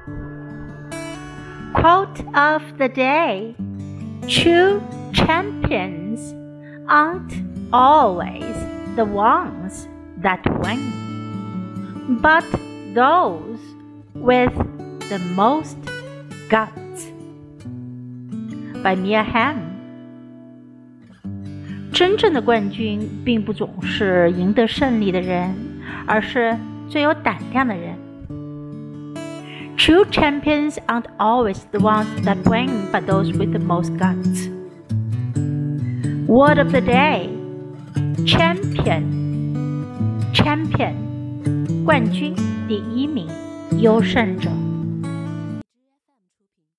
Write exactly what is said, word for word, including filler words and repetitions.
Quote of the day: True champions aren't always the ones that win, but those with the most guts. By Mia Hamm。真正的冠军并不总是赢得胜利的人，而是最有胆量的人。True champions aren't always the ones that win, but those with the most guts. Word of the day: champion. Champion, 冠军，第一名，优胜者。